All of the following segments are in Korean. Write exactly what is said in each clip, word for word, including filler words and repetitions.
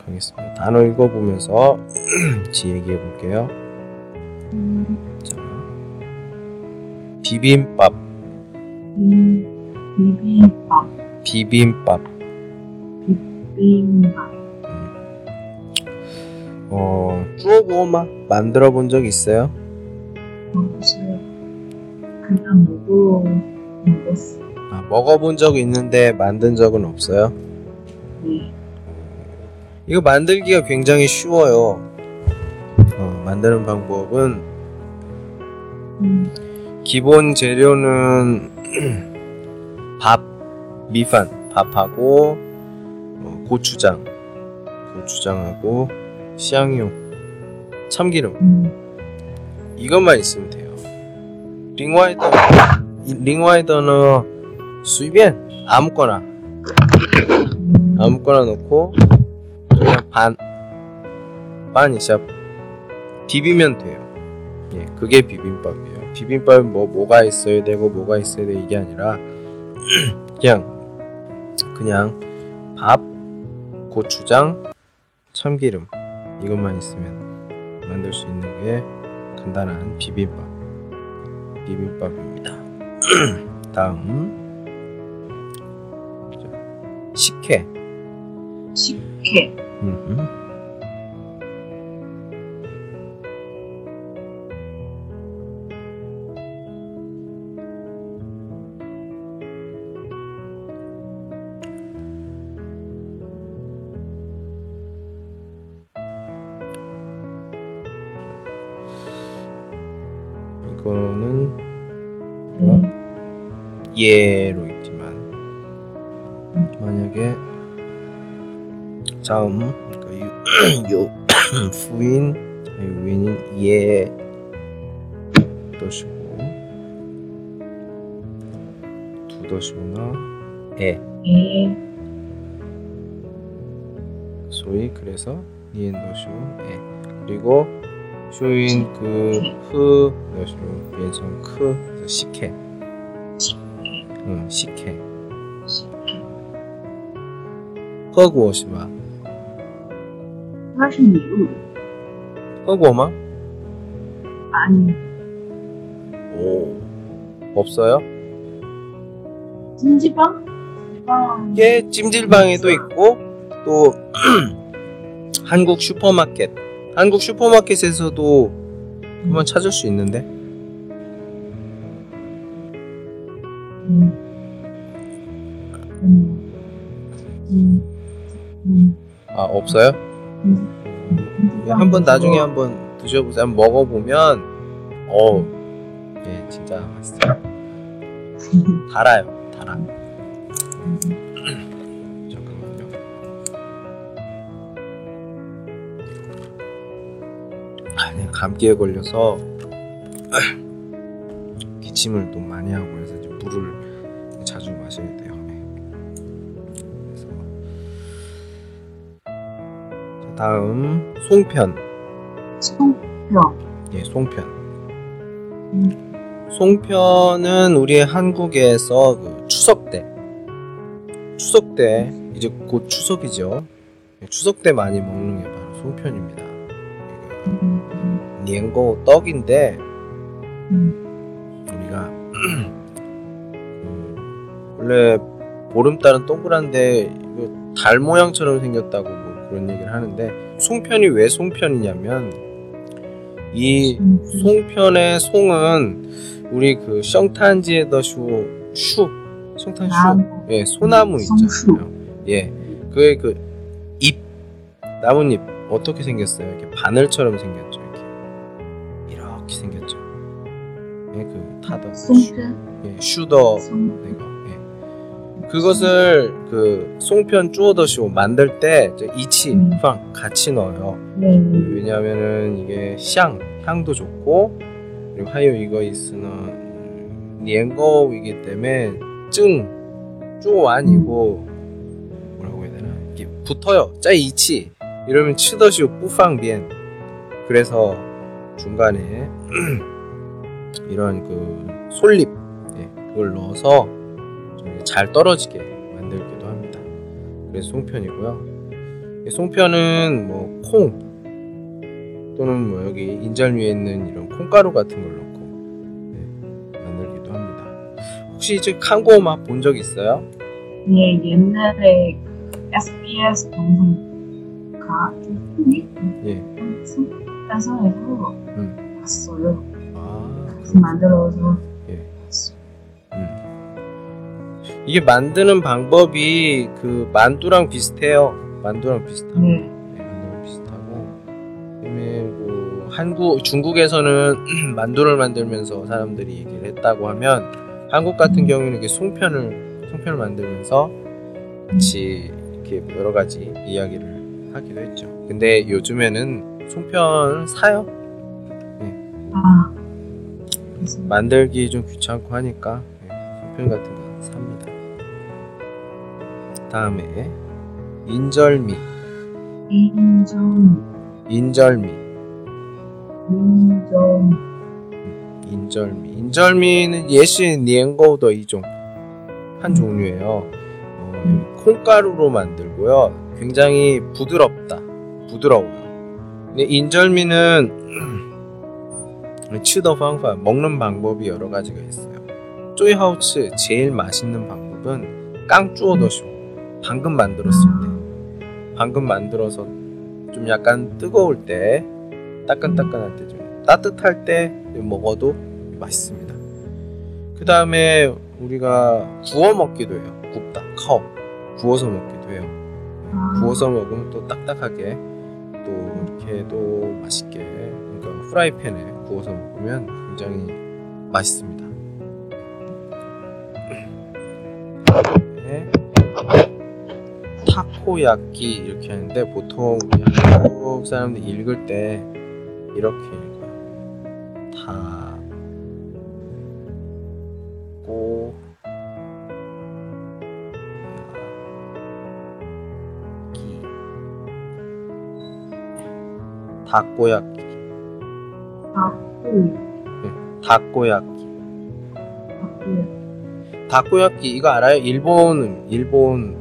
하겠습니다. 단어 읽어보면서 같이 얘기해 볼게요. 음, 자, 비빔밥, 비, 비빔밥, 비빔밥. 비빔밥. 어, 쭈어보마 만들어 본 적 있어요? 없어요. 그냥 먹어, 먹었어. 아, 먹어본 적 있는데 만든 적은 없어요? 네. 이거 만들기가 굉장히 쉬워요. 어, 만드는 방법은 음, 기본 재료는 밥, 미판, 밥하고 어, 고추장, 고추장하고 시향유, 참기름 음, 이것만 있으면 돼요. 링와이더, 링와이더는 随便 아무거나 음, 아무거나 넣고 그냥 반, 반 이샵 비비면 돼요. 예, 그게 비빔밥이에요. 비빔밥은 뭐 뭐가 있어야 되고 뭐가 있어야 돼 이게 아니라 그냥 그냥 밥, 고추장, 참기름 이것만 있으면 만들 수 있는 게 간단한 비빔밥 비빔밥입니다. 다음 식혜. 식혜. 음흠. 이거는 음, 예로 있지만 만약에 다음 그 유, 요 후인 유인인 예 도시고 두 도시구나 에 에, 소위 그래서 니엔 도시고 에 그리고 쇼인 그흐 도시고 비엔성 크 그래서 식혜 식혜. 응 식혜 식혜. 喝过是吧？ 它是米露的。 喝过吗？ 아니, 오 없어요? 찜질방? 찜질방. 예, 찜질방에도 있고 또 한국 슈퍼마켓 한국 슈퍼마켓에서도 한번 찾을 수 있는데 음. 음. 음. 음. 아 없어요? 음. 예, 한번 나중에 한번 드셔보세요. 한번 먹어보면 어우 예 진짜 맛있어요. 달아요 달아. 잠깐만요. 아니 감기에 걸려서 기침을 또 많이 하고 그래서 이제 물을 자주 마셔야 돼요. 그래서 자, 다음 송편. 송편. 예, 송편. 음. 송편은 우리 한국에서 그 추석 때, 추석 때 이제 곧 추석이죠. 추석 때 많이 먹는 게 바로 송편입니다. 음. 니엔고 떡인데 음. 우리가 음, 원래 보름달은 동그란데 이거 달 모양처럼 생겼다고 뭐 그런 얘기를 하는데 송편이 왜 송편이냐면 이 송편의 송은 우리 그 성탄지에 더슈 슈 성탄슈 예 소나무 있잖아요. 예 그게 그 잎 나뭇잎 어떻게 생겼어요? 이렇게 바늘처럼 생겼죠. 이렇게 이렇게 생겼죠. 예 그 타더 슈 예 슈더 이거 예 그것을 그 송편 쭈어더쇼 만들 때 이치 팡 같이 넣어요. 왜냐하면은 이게 향 향도 좋고 그리고 하여 이거 있으는 니엔거이기 때문에 증 쪼 아니고 뭐라고 해야 되나 이게 붙어요. 짜이 이치 이러면 치더쇼 뿌팡비엔 그래서 중간에 이런 그 솔잎 예, 그걸 넣어서 좀 잘 떨어지게 만들기도 합니다. 그래서 송편이고요. 송편은 뭐 콩 또는 뭐 여기 인절미에 있는 이런 콩가루 같은 걸 넣고 네, 만들기도 합니다. 혹시 이제 칸고 맛 본 적 있어요? 예, 옛날에 그 에스비에스 방송가 좀 예. 방송에서 음. 봤어요. 아, 그래서 만들어서 예. 봤어요. 음. 이게 만드는 방법이 그 만두랑 비슷해요. 만두랑 비슷합니다. 네. 네, 만두랑 비슷하고 그다음에 뭐 한국 중국에서는 만두를 만들면서 사람들이 얘기를 했다고 하면 한국 같은 경우는 이렇게 송편을 송편을 만들면서 같이 이렇게 여러 가지 이야기를 하기도 했죠. 근데 요즘에는 송편을 사요. 아, 그래서 만들기 좀 귀찮고 하니까 네, 송편 같은 거 삽니다. 다음에 인절미, 인전, 인절미, 인전, 인절미. 인절미는 예시 니엔고도 이종 한 종류예요. 어, 콩가루로 만들고요. 굉장히 부드럽다, 부드러워요. 근데 인절미는 치더 방법, 먹는 방법이 여러 가지가 있어요. 쪼이하우츠 제일 맛있는 방법은 깡쭈어더쇼. 방금 만들었을 때, 방금 만들어서 좀 약간 뜨거울 때, 따끈따끈할 때, 좀 따뜻할 때 먹어도 맛있습니다. 그 다음에 우리가 구워 먹기도 해요. 굽다, 카오. 구워서 먹기도 해요. 구워서 먹으면 또 딱딱하게 또 이렇게 또 맛있게, 그러니까 프라이팬에 구워서 먹으면 굉장히 맛있습니다. 네. 타코야끼 이렇게 하는데 보통 한국 사람들이 읽을 때 이렇게 읽어요. 타코 다꼬야끼. 다꾸, 다꼬야끼. 다꾸, 다꼬야끼 이거 알아요? 일본 일본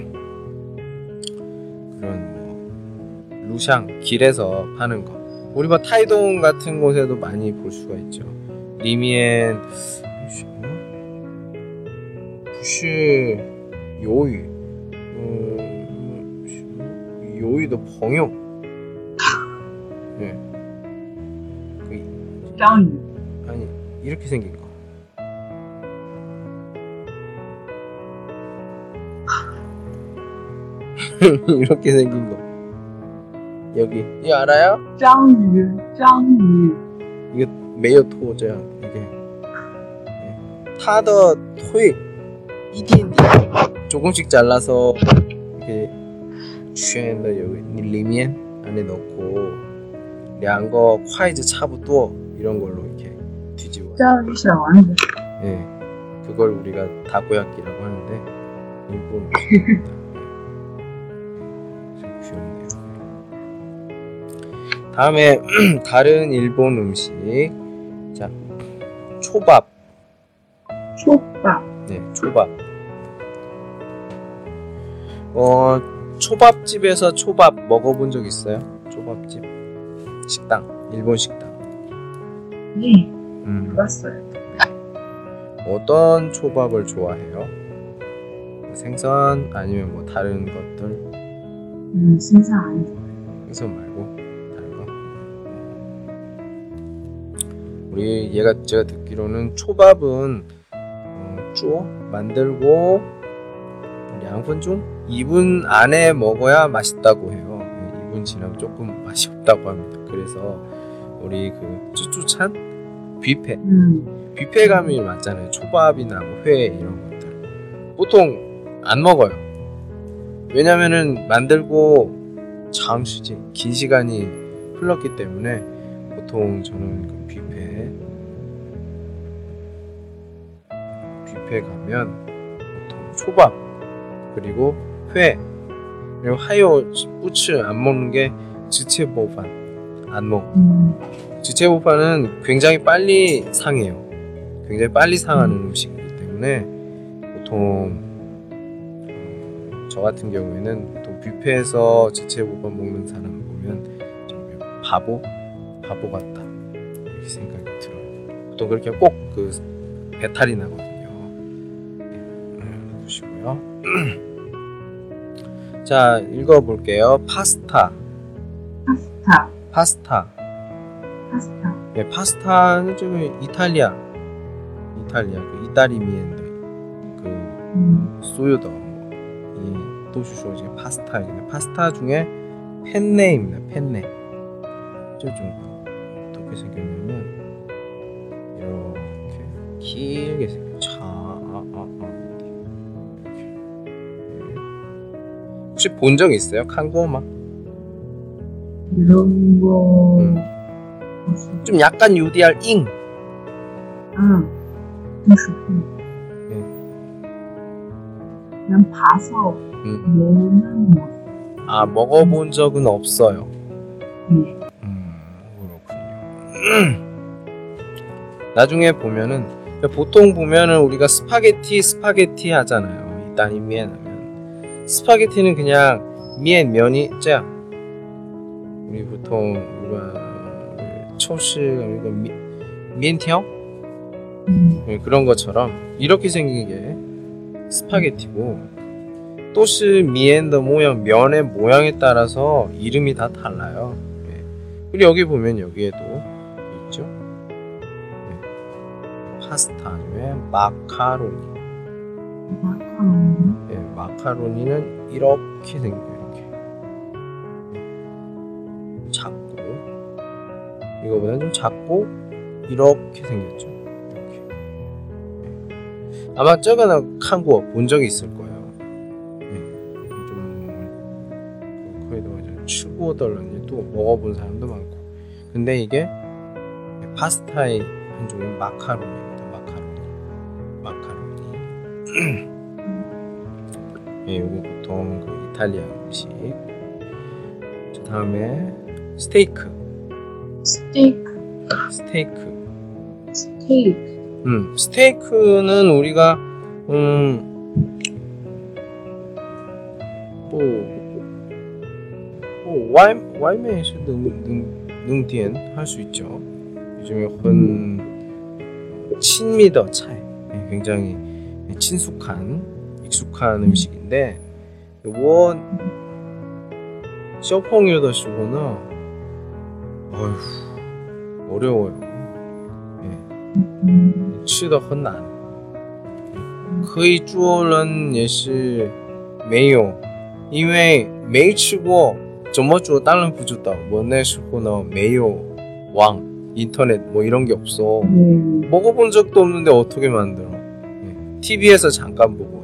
그런 뭐 루샹 길에서 파는 거. 우리 뭐 타이동 같은 곳에도 많이 볼 수가 있죠. 리미엔 부시 요이 음, 요이도 벙용. 네. 그, 짱, 아니 이렇게 생긴 거. 이렇게 생긴 거. 여기 이거 알아요? 짱유, 짱유, 이거 메요 토저야 이게. 타더 토이 이디엔디 조금씩 잘라서 이렇게 취한다 여기 리면 안에 넣고 량거 콰이즈 차부터 이런 걸로 이렇게 뒤집어. 짱유 샤완 예, 그걸 우리가 다코야끼라고 하는데 일본 음식입니다. 참 귀엽네요. 다음에 다른 일본 음식, 자 초밥. 초밥, 네, 초밥. 어, 초밥집에서 초밥 먹어본 적 있어요? 초밥집 식당, 일본 식당. 네, 음, 봤어요. 어떤 초밥을 좋아해요? 생선 아니면 뭐 다른 것들? 음, 생선 안 좋아요. 생선 말고 다른 거? 우리 얘가 제가 듣기로는 초밥은 어, 쪼 만들고 양분 중 이 분 안에 먹어야 맛있다고 해요. 이 분 지나면 조금 맛이 없다고 합니다. 그래서 우리 그 쭈쭈찬 뷔페 음, 뷔페 가면 맞잖아요. 초밥이나 뭐 회 이런 것들 보통 안 먹어요. 왜냐면은 만들고 장시지 긴 시간이 흘렀기 때문에 보통 저는 그 뷔페 뷔페 가면 보통 초밥 그리고 회 그리고 하요 부츠 안 먹는 게 지체보판 안 먹어. 음, 지체보판은 굉장히 빨리 상해요. 굉장히 빨리 상하는 음식이기 때문에 보통 어, 저 같은 경우에는 보통 뷔페에서 제체국밥 먹는 사람 보면 좀 바보? 바보 같다 이렇게 생각이 들어요. 보통 그렇게 꼭 그 배탈이 나거든요. 네, 보시고요. 자, 읽어볼게요. 파스타. 파스타, 파스타. 파스타, 네, 파스타는 좀 이탈리아. 이탈리아. 그 이타리미엔더. 그 음, 소유더. 이 도슈쇼 이제 파스타입니다. 파스타 중에 펜네입니다. 펜네. 좀 어떻게 생겼냐면 이렇게 길게 생겼죠. 아, 아, 아. 이렇게. 혹시 본 적 있어요? 한국어만? 이런 거, 음. 무슨, 좀 약간 유디알 잉. 아, 무슨, 음. 그냥 봐서 음. 뭐는 뭐, 아, 먹어본 적은 없어요. 네, 음, 그렇군요. 나중에 보면은 보통 보면은 우리가 스파게티 스파게티 하잖아요. 이따니 미엔 하면 스파게티는 그냥 미엔 면이 짜. 우리 보통 우리가 초시 이거 미 미엔티오 음, 그런 것처럼 이렇게 생긴 게 스파게티고 또시 미엔더 모양 면의 모양에 따라서 이름이 다 달라요. 예. 그리고 여기 보면 여기에도 있죠. 예. 파스타 중에 마카로니. 마카로니, 예, 마카로니는 이렇게 생겨요. 이렇게 작고 이거보다는 좀 작고 이렇게 생겼죠. 이렇게. 예. 아마 저거는 한국어 본 적이 있을 거예요. 추구어덜런지 또 먹어본 사람도 많고 근데 이게 파스타의 한 종류인 마카로니입니다. 마카로니 마카로니 예, 이거 보통 그 이탈리아 음식. 그 다음에 스테이크 스테이크, 스테이크 스테이크, 음, 스테이크는 우리가 음, 뭐 와이 와이메에서 능능능디엔 할 수 있죠. 요즘에 흔 친미더 차이 굉장히 친숙한 익숙한 음식인데 원 쇼펑유더 시고는 어휴 어려워요. 예. 吃的很难可以做人也是没有因为没吃过怎么做当然不知道我那时候呢没有网 인터넷 뭐 이런 게 없어. 네, 먹어본 적도 없는데 어떻게 만들어? 예. 티비에서 잠깐 보고